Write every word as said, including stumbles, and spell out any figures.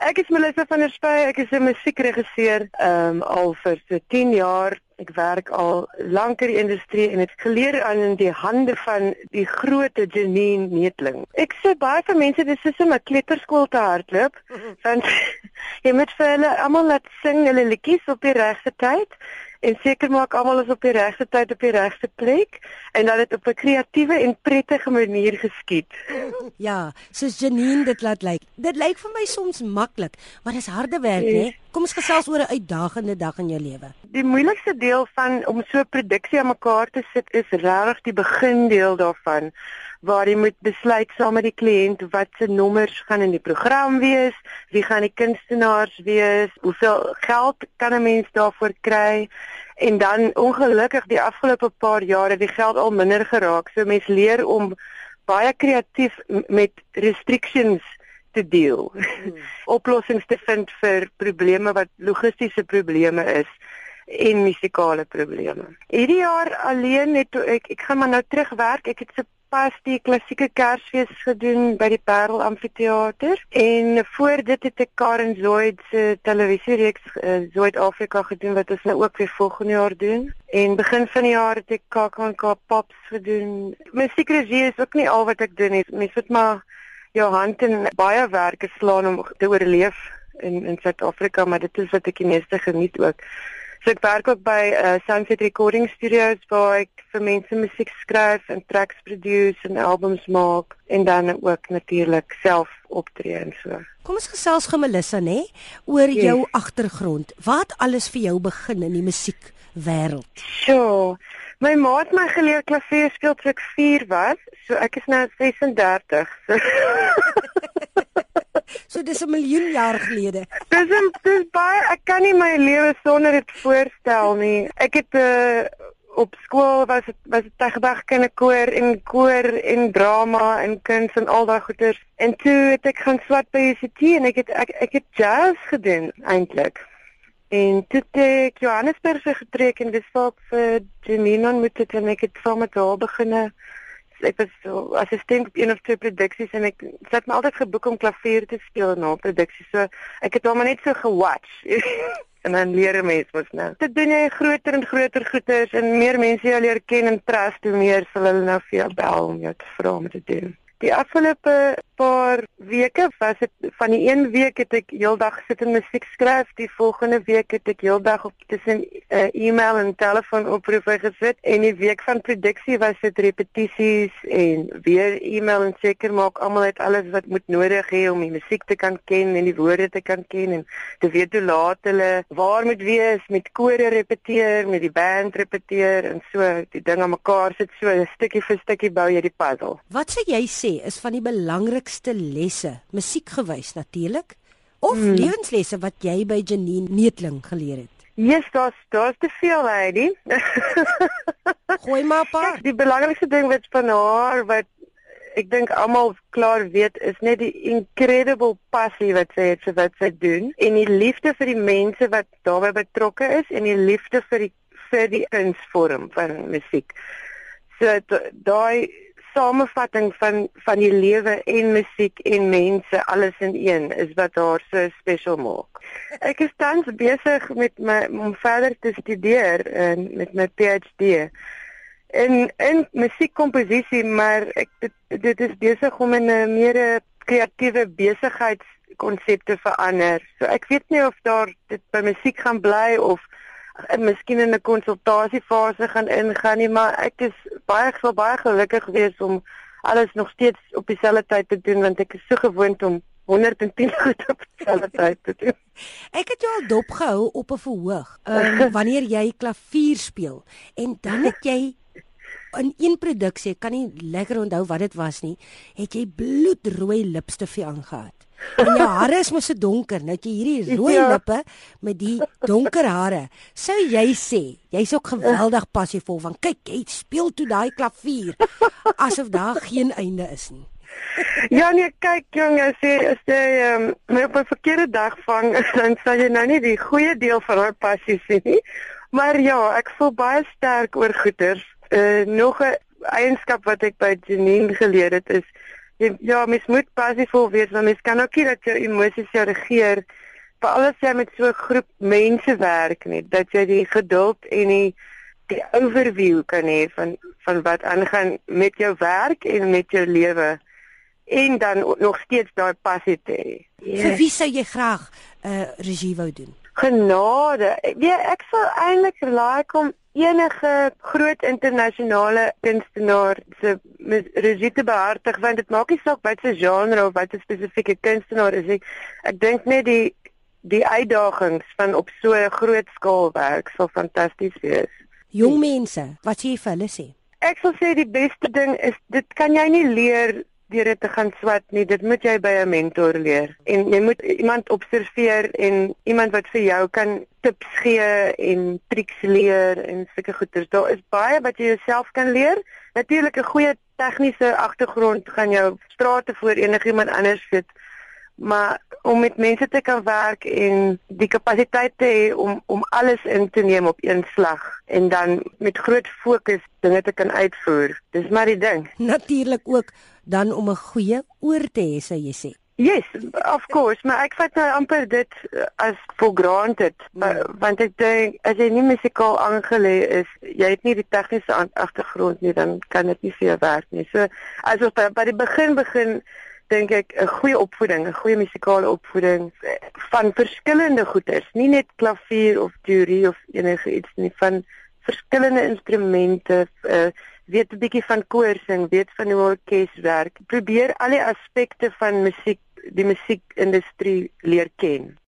Ek is Melissa van der Spy, ek is 'n musiekregisseur um, al vir so tien jaar. Ek werk al lank in die industrie en het geleer aan in die hande van die groot Janine Neethling. Ek sê baie van mense dis soos om 'n kleuterskool te hardloop, want jy moet vir hulle almal laat sing hulle liedjies op die regte tyd en seker maak almal is op die regte tyd op die regte plek en dat dit op 'n kreatiewe en prettige manier geskied. Ja, soos Janine dit laat lyk. Dit lyk vir my soms maklik, maar dis harde werk, Yes. né? Kom ons gesels oor 'n uitdagende dag in jou lewe. Die moeilikste deel van om so 'n produksie aan mekaar te sit is regtig die begindeel daarvan, waar jy moet besluit saam met die kliënt wat se nommers gaan in die program wees, wie gaan die kunstenaars wees, hoeveel geld kan 'n mens daarvoor kry. En dan ongelukkig die afgelope paar jare die geld al minder geraak. So mens leer om baie kreatief met restrictions te deel. Hmm. Oplossings te vind vir probleme wat logistiese probleme is en musikale probleme. Hierdie jaar alleen het ek ek gaan maar nou terugwerk. Ek het so pas die klassieke Kersfees gedoen by die Parel Amfitheater en voor dit het ek Karen Zoid se televisiereeks uh, Zoid Afrika gedoen wat ons nou ook weer volgende jaar doen. En begin van die jaar het ek K K N K Pops gedoen. Musiekregie is ook nie al wat ek doen nie. Mens moet maar jou hand in baie werke slaan om te oorleef in in Suid-Afrika, maar dit is wat ek die meeste geniet ook. So ek werk ook by uh, Sunset Recording Studios waar ek vir mense musiek skryf en tracks produce en albums maak en dan ook natuurlik self optree en so. Kom ons gesels gou Melissa, né, oor Yes. jou agtergrond. Wat alles vir jou begin in die musiekwêreld? Sure. My ma het my geleer klavier speel toe ek vier was, so ek is nou ses en dertig. So. So dis 'n miljoen jaar gelede. Dis 'n dis baie ek kan nie my lewe sonder dit voorstel nie. Ek het uh, op skool was dit was dit tegendag kinderkoor en koor en drama en kuns en al daai goeters. En toe het ek gaan swat by U C T en ek het ek, ek het jazz gedoen eintlik. En toe het ek Johannesburg getrek en dis waar ek vir Janine ontmoet het en ek het saam met haar begin. Ek was so assistent op een of twee produksies en ek het my altyd geboek om klavier te speel na produksies. So ek het hom maar net so gewatch. En dan leer 'n mens mos nou. Dit doen jy groter en groter goeders en meer mense jou leer ken en trust, hoe meer sal hulle nou vir jou bel om jou te vra om te doen. Die afgelope paar weke was dit van die een week het ek heeldag sit en musiek skryf, die volgende week het ek heeldag op tussen uh, e-mail en telefoonoproepe gesit en die week van produksie was dit repetisies en weer e-mail en seker maak almal het alles wat moet nodig hê om die musiek te kan ken en die woorde te kan ken en te weet hoe laat hulle waar moet wees, met kore repeteer, met die band repeteer en so die ding aan mekaar sit so stukkie vir stukkie bou jy die puzzle. Wat sê jy sê is van die belangrikste lesse, musiekgewys natuurlik, of hmm. lewenslesse wat jy by Janine Neethling geleer het? Yes, daar's daar's te veel, Heidi. Gooi maar 'n paar. Die belangrikste ding wat van haar wat ek dink almal klaar weet is net die incredible passie wat sy het vir wat sy doen en die liefde vir die mense wat daarbey betrokke is en die liefde vir die vir die kunsvorm van musiek. So daai samevatting van van die lewe en musiek en mense alles in een is wat haar so special maak. Ek is tans besig met my om verder te studeer en met my P H D in in musiekkomposisie, maar ek dit, dit is besig om in 'n meer kreatiewe besigheidskonsep te verander. So ek weet nie of daar dit by musiek gaan bly of en miskien in 'n konsultasiefase gaan ingaan nie, maar ek is baie sal baie gelukkig wees om alles nog steeds op dieselfde tyd te doen want ek is so gewoond om honderd en tien goed op dieselfde tyd te doen. Ek het jou al dopgehou op 'n verhoog, um, wanneer jy klavier speel en dan het jy in een produksie, ek kan nie lekker onthou wat dit was nie, het jy bloedrooi lipstifie aangehad. En jou hare is mos so donker, nou het jy hierdie rooi ja. lippe met die donker hare. Sou jy sê, jy's ook geweldig passievol van, kyk, jy speel toe daai klavier, asof daar geen einde is nie. Ja nee, kyk jong, as jy, as jy um, my op 'n verkeerde dag vang, dan sal jy nou nie die goeie deel van haar passie sien nie. Maar ja, ek voel baie sterk oor goeters. Uh, nog 'n eienskap wat ek by Janine geleer het is Ja, mens moet passievol wees, want mens kan ook nie dat jou emosies jou regeer, veral as jy met so 'n groep mense werk nie, dat jy die geduld en die, die overview kan hê van, van wat aangaan met jou werk en met jou lewe, en dan nog steeds daai passie te hê. Yes. Vir wie sou jy graag uh, regie wou doen? Genade. Ja, ek sal eintlik like om enige groot internasionale kunstenaar se regie te behartig, want dit maak nie saak wat se genre of wat 'n spesifieke kunstenaar is. Ek, ek dink net die die uitdagings van op so 'n groot skaal werk sal fantasties wees. Jong mense, wat sê jy vir hulle sê? Ek sal sê die beste ding is, dit kan jy nie leer deur dit te gaan swat nie, dit moet jy by 'n mentor leer. En jy moet iemand observeer en iemand wat vir jou kan tips gee en triks leer en sulke goeders. Daar is baie wat jy jouself kan leer. Natuurlik 'n goeie tegniese agtergrond gaan jou strate voor enigiemand anders sit. Maar om met mense te kan werk en die kapasiteit te hê om om alles in te neem op een slag en dan met groot fokus dinge te kan uitvoer. Dis maar die ding. Natuurlik ook dan om 'n goeie oor te hê, sou jy sê. Yes, of course, maar ek vat nou amper dit as for granted, mm. want ek dink as jy nie musikaal aangelê is, jy het nie die tegniese agtergrond nie, dan kan dit nie vir jou werk nie. So as ons by die begin begin dink ek 'n goeie opvoeding, 'n goeie musikale opvoeding van verskillende goeters, nie net klavier of teorie of enige iets nie, van verskillende instrumente, uh, weet 'n bietjie van koor sing, weet van hoe orkes werk. Probeer al die aspekte van musiek, die musiekindustrie leer ken.